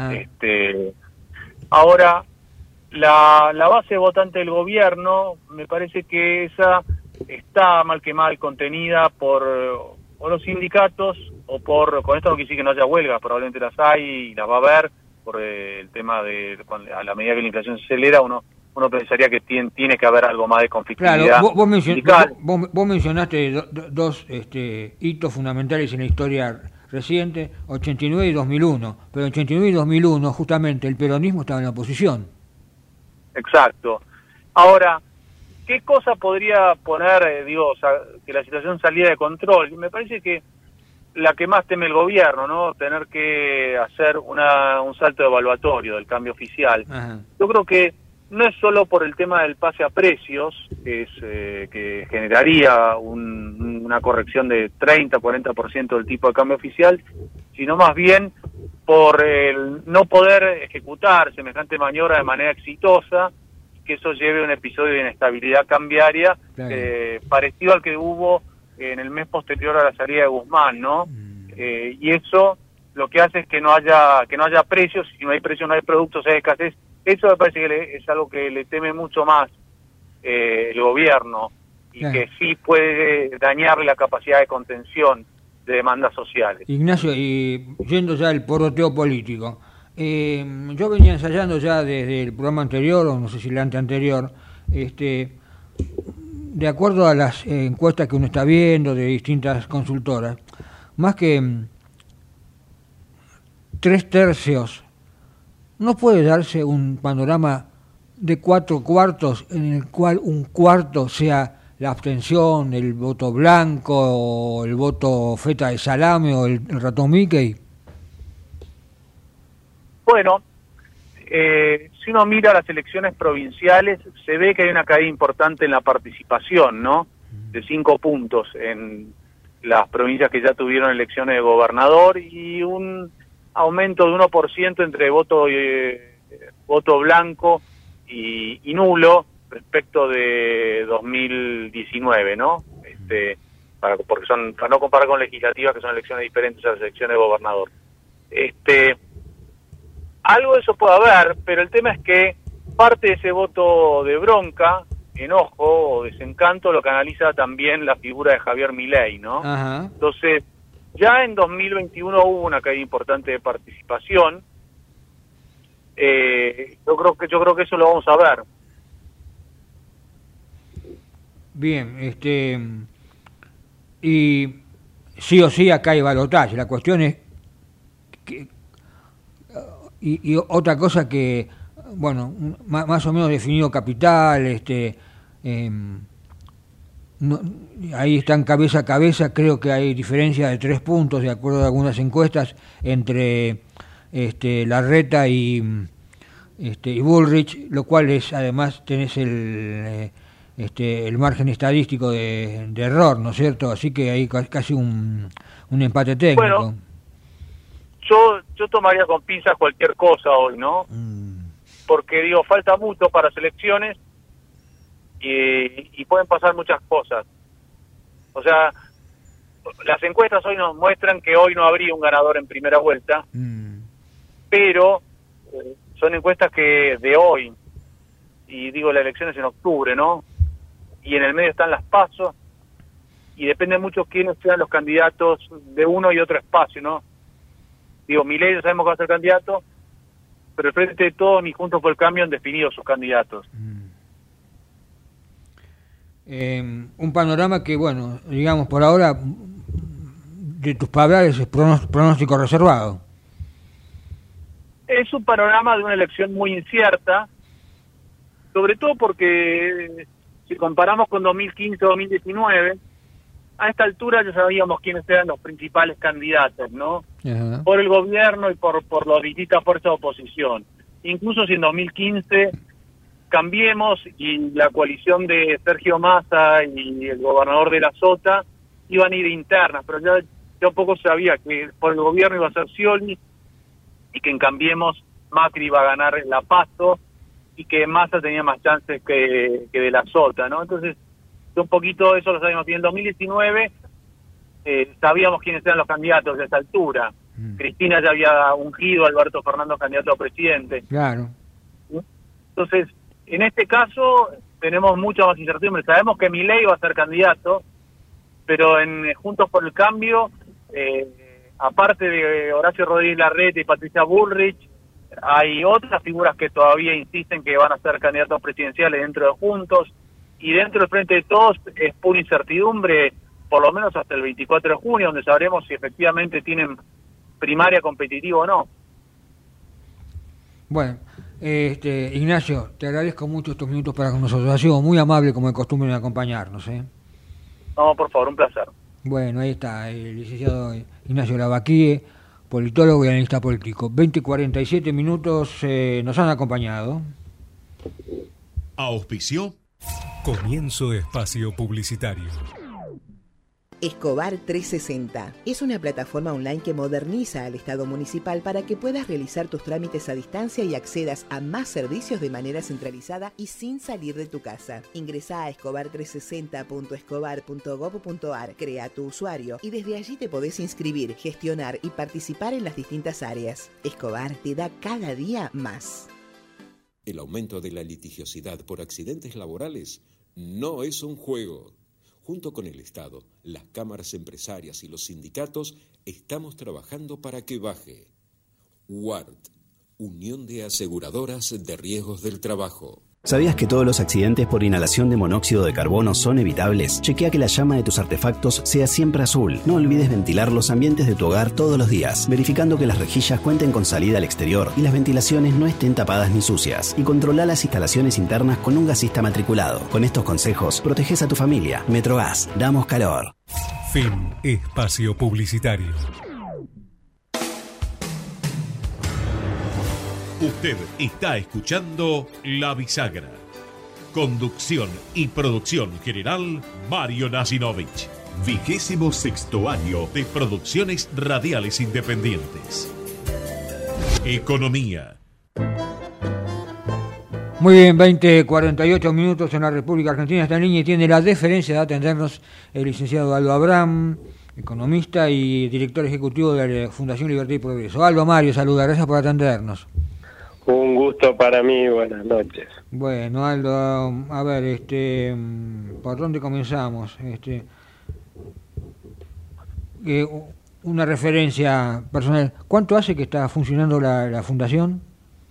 Ahora, la base votante del gobierno, me parece que esa está mal que mal contenida por o los sindicatos, o con esto no quiere decir que no haya huelgas, probablemente las hay y las va a haber, por el tema de, a la medida que la inflación se acelera, uno pensaría que tiene que haber algo más de conflictividad. Claro, vos mencionaste dos hitos fundamentales en la historia reciente, 89 y 2001, pero en 89 y 2001 justamente el peronismo estaba en la oposición. Exacto. Ahora, ¿qué cosa podría poner, que la situación saliera de control? Me parece que la que más teme el gobierno, ¿no? Tener que hacer un salto evaluatorio del cambio oficial. Ajá. Yo creo que no es solo por el tema del pase a precios, que generaría una corrección de 30-40% del tipo de cambio oficial, sino más bien por el no poder ejecutar semejante maniobra de manera exitosa, que eso lleve a un episodio de inestabilidad cambiaria, claro, parecido al que hubo en el mes posterior a la salida de Guzmán, ¿no? y eso lo que hace es que no haya precios. Si no hay precios, no hay productos, hay escasez. Eso me parece que es algo que le teme mucho más el gobierno, y que sí puede dañar la capacidad de contención de demandas sociales. Ignacio, y yendo ya al poroteo político, yo venía ensayando ya desde el programa anterior, o no sé si el anteanterior, de acuerdo a las encuestas que uno está viendo de distintas consultoras, más que 3/3, ¿no puede darse un panorama de 4/4 en el cual un cuarto sea la abstención, el voto blanco, o el voto feta de salame, o el ratón Mickey? Bueno, si uno mira las elecciones provinciales, se ve que hay una caída importante en la participación, ¿no? De 5 puntos en las provincias que ya tuvieron elecciones de gobernador, y un aumento de 1% entre voto blanco y nulo respecto de 2019, ¿no? Porque para no comparar con legislativas, que son elecciones diferentes a las elecciones de gobernador. Algo de eso puede haber, pero el tema es que parte de ese voto de bronca, enojo o desencanto lo canaliza también la figura de Javier Milei, ¿no? Ajá. Entonces, ya en 2021 hubo una caída importante de participación. Yo creo que eso lo vamos a ver. Bien, y sí o sí acá hay balotaje. La cuestión es que, y otra cosa que, bueno, más o menos definido capital, no, ahí están cabeza a cabeza. Creo que hay diferencia de 3 puntos, de acuerdo a algunas encuestas, entre Larreta y Bullrich, lo cual es, además, tenés el margen estadístico de error, ¿no es cierto? Así que hay casi un empate técnico. Bueno, yo tomaría con pinzas cualquier cosa hoy, ¿no? Porque, digo, falta mucho para las elecciones y pueden pasar muchas cosas. O sea, las encuestas hoy nos muestran que hoy no habría un ganador en primera vuelta, pero son encuestas que de hoy, y digo, la elección es en octubre, ¿no? Y en el medio están las PASO, y depende mucho quiénes sean los candidatos de uno y otro espacio, ¿no? Digo, Milei ya sabemos que va a ser candidato, pero el Frente de Todos ni Juntos por el Cambio han definido sus candidatos. Un panorama que, bueno, digamos, por ahora, de tus palabras, es pronóstico reservado. Es un panorama de una elección muy incierta, sobre todo porque si comparamos con 2015 o 2019, a esta altura ya sabíamos quiénes eran los principales candidatos, ¿no? Ajá. Por el gobierno y por las distintas fuerzas de oposición. Incluso si en 2015 Cambiemos y la coalición de Sergio Massa y el gobernador de la Sota iban a ir internas, pero ya un poco sabía que por el gobierno iba a ser Scioli y que en Cambiemos Macri iba a ganar la PASO y que Massa tenía más chances que de la Sota, ¿no? Entonces, un poquito eso lo sabíamos. Y en 2019 sabíamos quiénes eran los candidatos a esa altura. Cristina ya había ungido a Alberto Fernández candidato a presidente. Claro. Entonces, en este caso tenemos mucha más incertidumbre. Sabemos que Milei va a ser candidato, pero en Juntos por el Cambio, aparte de Horacio Rodríguez Larreta y Patricia Bullrich, hay otras figuras que todavía insisten que van a ser candidatos presidenciales dentro de Juntos, y dentro del Frente de Todos es pura incertidumbre, por lo menos hasta el 24 de junio, donde sabremos si efectivamente tienen primaria competitiva o no. Bueno, Ignacio, te agradezco mucho estos minutos para con nosotros. Ha sido muy amable, como de costumbre, en acompañarnos. No, por favor, un placer. Bueno, ahí está el licenciado Ignacio Lavaquie, politólogo y analista político. 20:47 minutos nos han acompañado. Auspició. Comienzo de espacio publicitario. Escobar 360 es una plataforma online que moderniza al Estado municipal para que puedas realizar tus trámites a distancia y accedas a más servicios de manera centralizada y sin salir de tu casa. Ingresa a escobar360.escobar.gov.ar, crea tu usuario y desde allí te podés inscribir, gestionar y participar en las distintas áreas. Escobar te da cada día más. El aumento de la litigiosidad por accidentes laborales no es un juego. Junto con el Estado, las cámaras empresarias y los sindicatos, estamos trabajando para que baje. WART, Unión de Aseguradoras de Riesgos del Trabajo. ¿Sabías que todos los accidentes por inhalación de monóxido de carbono son evitables? Chequea que la llama de tus artefactos sea siempre azul. No olvides ventilar los ambientes de tu hogar todos los días, verificando que las rejillas cuenten con salida al exterior y las ventilaciones no estén tapadas ni sucias. Y controla las instalaciones internas con un gasista matriculado. Con estos consejos, proteges a tu familia. Metrogas, damos calor. Fin espacio publicitario. Usted está escuchando La Bisagra. Conducción y producción general, Mario Nasinovich. 26º año de Producciones Radiales Independientes. Economía. Muy bien, 20:48 minutos en la República Argentina. Esta línea tiene la deferencia de atendernos el licenciado Aldo Abraham, economista y director ejecutivo de la Fundación Libertad y Progreso. Aldo, Mario, saluda, gracias por atendernos. Un gusto para mí, buenas noches. Bueno, Aldo, a ver, ¿por dónde comenzamos? Una referencia personal. ¿Cuánto hace que está funcionando la fundación?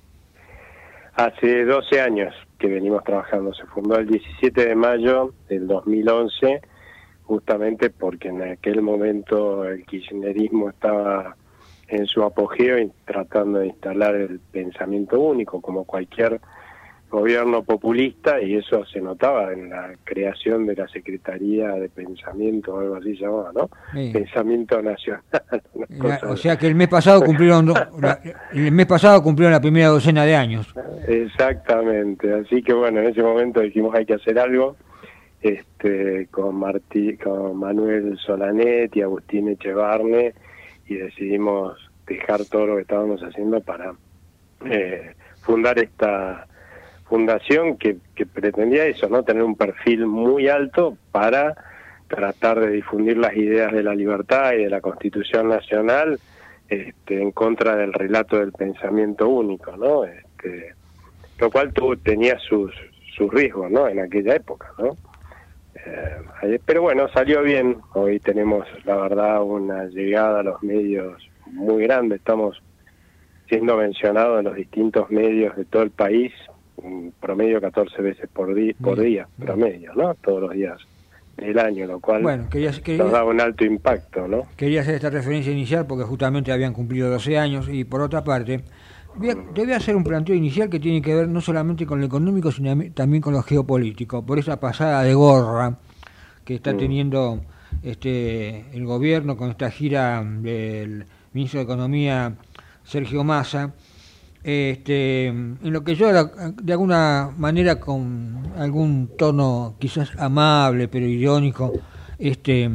Hace 12 años que venimos trabajando. Se fundó el 17 de mayo del 2011, justamente porque en aquel momento el kirchnerismo estaba en su apogeo y tratando de instalar el pensamiento único como cualquier gobierno populista, y eso se notaba en la creación de la Secretaría de Pensamiento o algo así llamaba, ¿no? Sí. Pensamiento Nacional. O sea que el mes pasado cumplieron la primera docena de años. Exactamente, así que bueno, en ese momento dijimos hay que hacer algo, con Manuel Solanet y Agustín Echevarne, y decidimos dejar todo lo que estábamos haciendo para fundar esta fundación que pretendía eso, ¿no? Tener un perfil muy alto para tratar de difundir las ideas de la libertad y de la Constitución Nacional en contra del relato del pensamiento único, ¿no? Lo cual tenía sus riesgos, ¿no? En aquella época, ¿no? Pero bueno, salió bien. Hoy tenemos, la verdad, una llegada a los medios muy grande. Estamos siendo mencionados en los distintos medios de todo el país, un promedio 14 veces por día, promedio, ¿no? Todos los días del año, lo cual nos da un alto impacto, ¿no? Quería hacer esta referencia inicial porque justamente habían cumplido 12 años y por otra parte, debe hacer un planteo inicial que tiene que ver no solamente con lo económico, sino también con lo geopolítico, por esa pasada de gorra que está teniendo el gobierno con esta gira del ministro de Economía, Sergio Massa, en lo que yo de alguna manera con algún tono quizás amable pero irónico, que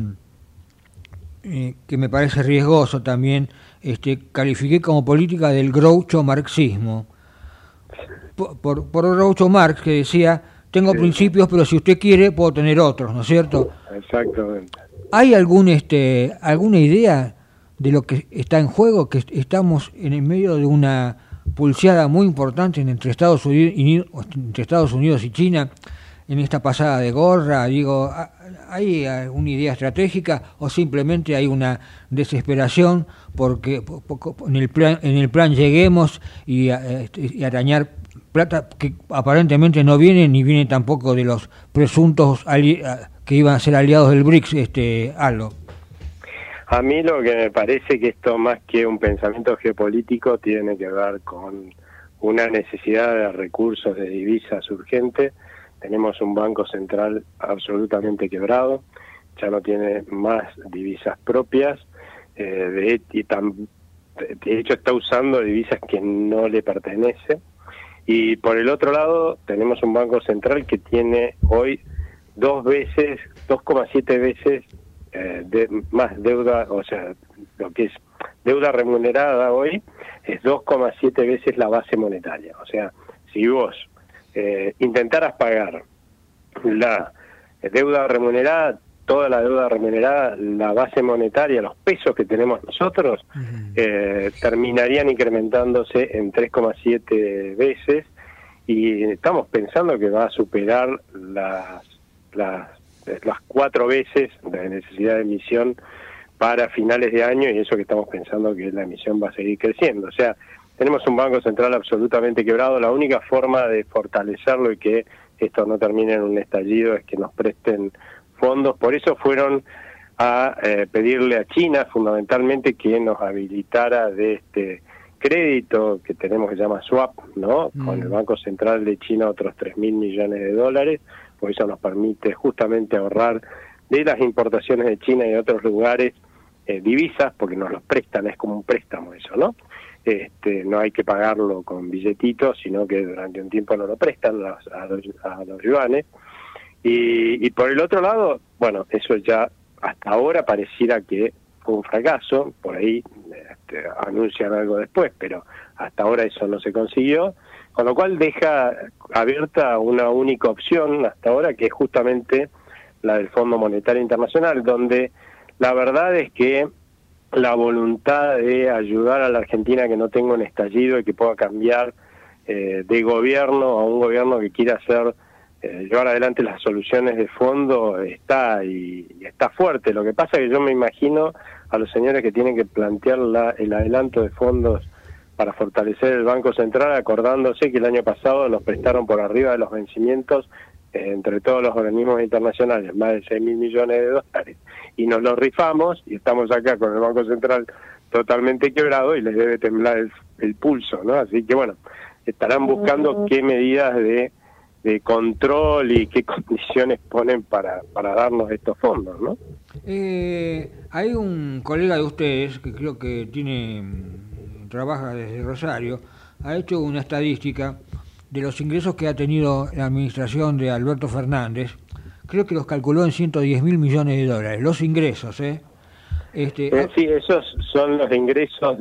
me parece riesgoso también, califiqué como política del groucho marxismo. Por Groucho Marx, que decía, tengo principios, pero si usted quiere puedo tener otros, ¿no es cierto? Exactamente. ¿Hay alguna idea de lo que está en juego? Que estamos en el medio de una pulseada muy importante entre Estados Unidos y China en esta pasada de gorra. Digo, ¿hay una idea estratégica o simplemente hay una desesperación porque en el plan lleguemos y arañar plata que aparentemente no viene ni viene tampoco de los presuntos que iban a ser aliados del BRICS, Aldo? A mí lo que me parece que esto, más que un pensamiento geopolítico, tiene que ver con una necesidad de recursos de divisas urgente. Tenemos un banco central absolutamente quebrado, ya no tiene más divisas propias, de hecho está usando divisas que no le pertenecen. Y por el otro lado tenemos un banco central que tiene hoy 2,7 veces más deuda, o sea, lo que es deuda remunerada hoy es 2,7 veces la base monetaria. O sea, si vos intentaras pagar la deuda remunerada, toda la deuda remunerada, la base monetaria, los pesos que tenemos nosotros, terminarían incrementándose en 3,7 veces, y estamos pensando que va a superar las 4 veces la necesidad de emisión para finales de año, y eso que estamos pensando que la emisión va a seguir creciendo. O sea, tenemos un Banco Central absolutamente quebrado. La única forma de fortalecerlo y que esto no termine en un estallido es que nos presten fondos. Por eso fueron a pedirle a China fundamentalmente que nos habilitara de este crédito que tenemos, que se llama swap, ¿no? Con el Banco Central de China otros $3.000 millones, porque eso nos permite justamente ahorrar de las importaciones de China y de otros lugares divisas, porque nos los prestan, es como un préstamo eso, ¿no? No hay que pagarlo con billetitos, sino que durante un tiempo nos lo prestan a los yuanes. Y por el otro lado, bueno, eso ya hasta ahora pareciera que fue un fracaso, por ahí anuncian algo después, pero hasta ahora eso no se consiguió, con lo cual deja abierta una única opción hasta ahora, que es justamente la del Fondo Monetario Internacional, donde la verdad es que la voluntad de ayudar a la Argentina que no tenga un estallido y que pueda cambiar de gobierno a un gobierno que quiera hacer llevar adelante las soluciones de fondo está, y está fuerte. Lo que pasa es que yo me imagino a los señores que tienen que plantear el adelanto de fondos para fortalecer el Banco Central, acordándose que el año pasado nos prestaron por arriba de los vencimientos entre todos los organismos internacionales más de $6.000 millones, y nos los rifamos, y estamos acá con el Banco Central totalmente quebrado y les debe temblar el pulso, ¿no? Así que bueno, estarán buscando qué medidas de control y qué condiciones ponen para darnos estos fondos, ¿no? Hay un colega de ustedes que creo que trabaja desde Rosario, ha hecho una estadística de los ingresos que ha tenido la administración de Alberto Fernández. Creo que los calculó en $110.000 millones, los ingresos, sí, esos son los ingresos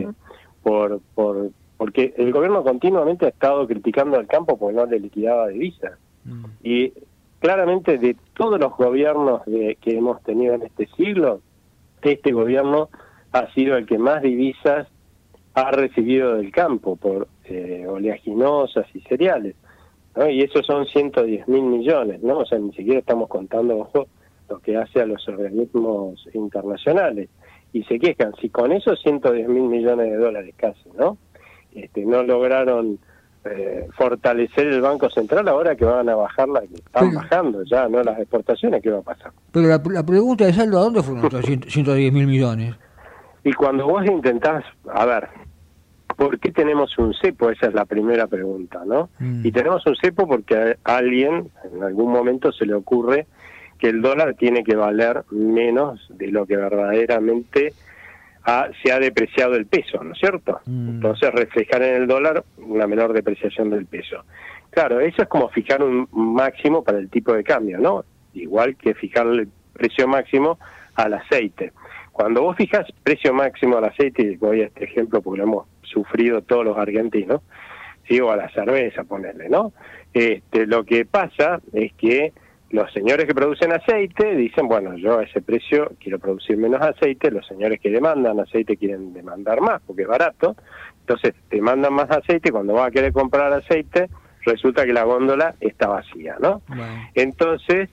porque el gobierno continuamente ha estado criticando al campo porque no le liquidaba divisas. Y claramente de todos los gobiernos que hemos tenido en este siglo, este gobierno ha sido el que más divisas ha recibido del campo por oleaginosas y cereales, ¿no? Y esos son $110.000 millones, ¿no? O sea, ni siquiera estamos contando, ojo, lo que hace a los organismos internacionales. Y se quejan, si con esos $110.000 millones casi, ¿no? No lograron fortalecer el Banco Central, ahora que van a bajar que están bajando ya, ¿no? Las exportaciones, ¿qué va a pasar? Pero la pregunta es, Aldo, ¿a dónde fueron estos $110.000 millones? Y cuando vos intentás, a ver, ¿por qué tenemos un cepo? Esa es la primera pregunta, ¿no? Y tenemos un cepo porque a alguien en algún momento se le ocurre que el dólar tiene que valer menos de lo que verdaderamente se ha depreciado el peso, ¿no es cierto? Entonces reflejar en el dólar una menor depreciación del peso. Claro, eso es como fijar un máximo para el tipo de cambio, ¿no? Igual que fijar el precio máximo al aceite. Cuando vos fijas precio máximo al aceite, y voy a este ejemplo porque lo hemos sufrido todos los argentinos, ¿sí? O a la cerveza, ponerle, ¿no? Lo que pasa es que los señores que producen aceite dicen, bueno, yo a ese precio quiero producir menos aceite, los señores que demandan aceite quieren demandar más porque es barato, entonces demandan más aceite, cuando vas a querer comprar aceite, resulta que la góndola está vacía, ¿no? Bueno. Entonces,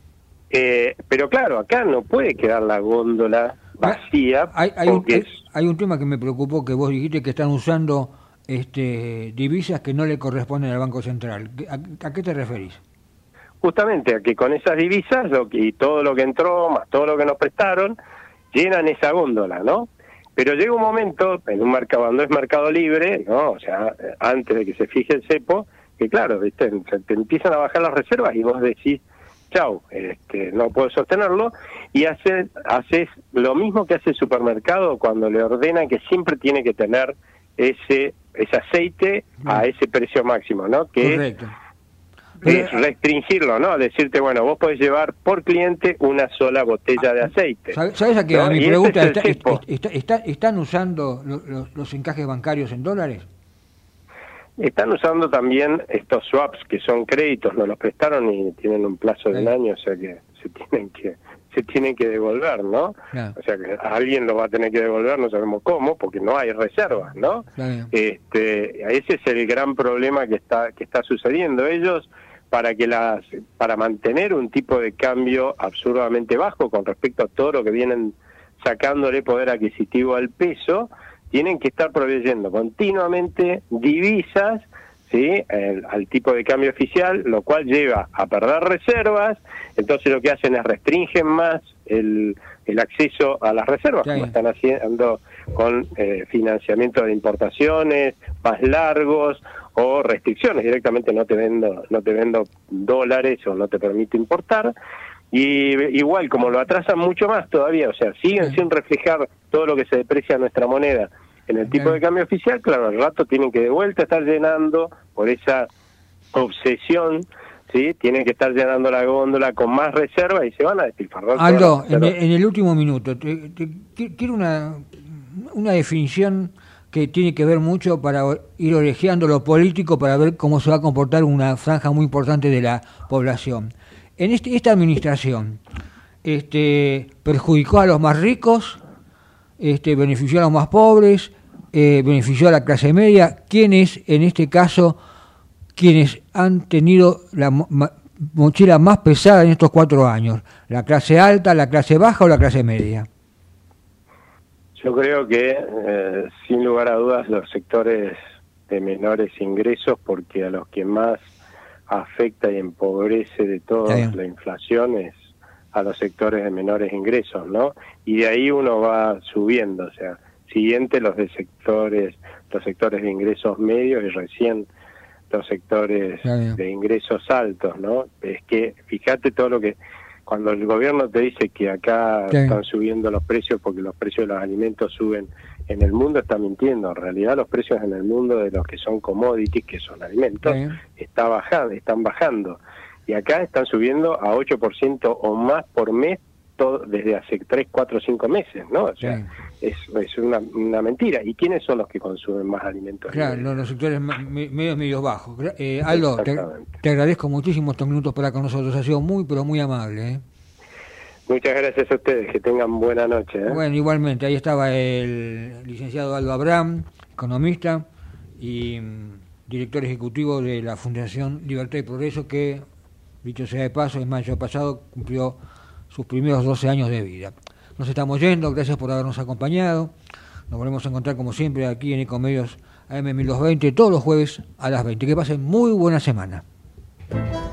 pero claro, acá no puede quedar la góndola vacía. Hay un tema que me preocupó, que vos dijiste que están usando divisas que no le corresponden al Banco Central. ¿A qué te referís? Justamente a que con esas divisas y todo lo que entró, más todo lo que nos prestaron, llenan esa góndola, ¿no? Pero llega un momento, en un mercado, cuando es mercado libre, ¿no? O sea, antes de que se fije el cepo, que claro, ¿viste? Te empiezan a bajar las reservas y vos decís, chau, no puedo sostenerlo, y haces lo mismo que hace el supermercado cuando le ordenan que siempre tiene que tener ese aceite a ese precio máximo, ¿no? Que correcto. restringirlo, ¿no? Decirte, bueno, vos podés llevar por cliente una sola botella de aceite. ¿Sabes a qué? ¿No? Mi Y pregunta ese es el cepo. ¿están usando los encajes bancarios en dólares? Están usando también estos swaps, que son créditos, nos los prestaron y tienen un plazo de un año, o sea que se tienen que devolver, ¿no? Claro. O sea que alguien lo va a tener que devolver, no sabemos cómo, porque no hay reservas, ¿no? Claro. Ese es el gran problema que está sucediendo. Ellos, para mantener un tipo de cambio absurdamente bajo con respecto a todo lo que vienen sacándole poder adquisitivo al peso, tienen que estar proveyendo continuamente divisas, ¿sí? Al tipo de cambio oficial, lo cual lleva a perder reservas. Entonces lo que hacen es restringen más el acceso a las reservas, como están haciendo con financiamiento de importaciones más largos o restricciones, directamente no te vendo dólares o no te permito importar. Y igual, como lo atrasan mucho más todavía, o sea, siguen sin reflejar todo lo que se deprecia nuestra moneda en el tipo de cambio oficial, claro, al rato tienen que de vuelta estar llenando por esa obsesión, ¿sí? Tienen que estar llenando la góndola con más reservas y se van a despilfarrar. Aldo, en el último minuto, quiero una definición que tiene que ver mucho para ir orejeando lo político para ver cómo se va a comportar una franja muy importante de la población. En esta administración, perjudicó a los más ricos, benefició a los más pobres, benefició a la clase media. ¿Quiénes, en este caso, quienes han tenido la mochila más pesada en estos 4 años? ¿La clase alta, la clase baja o la clase media? Yo creo que, sin lugar a dudas, los sectores de menores ingresos, porque a los que más afecta y empobrece de toda la inflación es a los sectores de menores ingresos, ¿no? Y de ahí uno va subiendo, o sea, siguiente los sectores de ingresos medios y recién los sectores de ingresos altos, ¿no? Es que fíjate todo lo que cuando el gobierno te dice que acá están subiendo los precios porque los precios de los alimentos suben en el mundo, está mintiendo. En realidad los precios en el mundo de los que son commodities, que son alimentos, están bajando. Y acá están subiendo a 8% o más por mes desde hace 3, 4, 5 meses, ¿no? O sea, es una mentira. ¿Y quiénes son los que consumen más alimentos? Claro, los sectores medios bajos. Aldo, te agradezco muchísimo estos minutos para con nosotros. Ha sido muy, pero muy amable, ¿eh? Muchas gracias a ustedes. Que tengan buena noche, ¿eh? Bueno, igualmente. Ahí estaba el licenciado Aldo Abraham, economista y director ejecutivo de la Fundación Libertad y Progreso, que, dicho sea de paso, en mayo pasado cumplió sus primeros 12 años de vida. Nos estamos yendo, gracias por habernos acompañado. Nos volvemos a encontrar como siempre aquí en Ecomedios AM 1220 todos los jueves a las 20. Que pasen muy buena semana.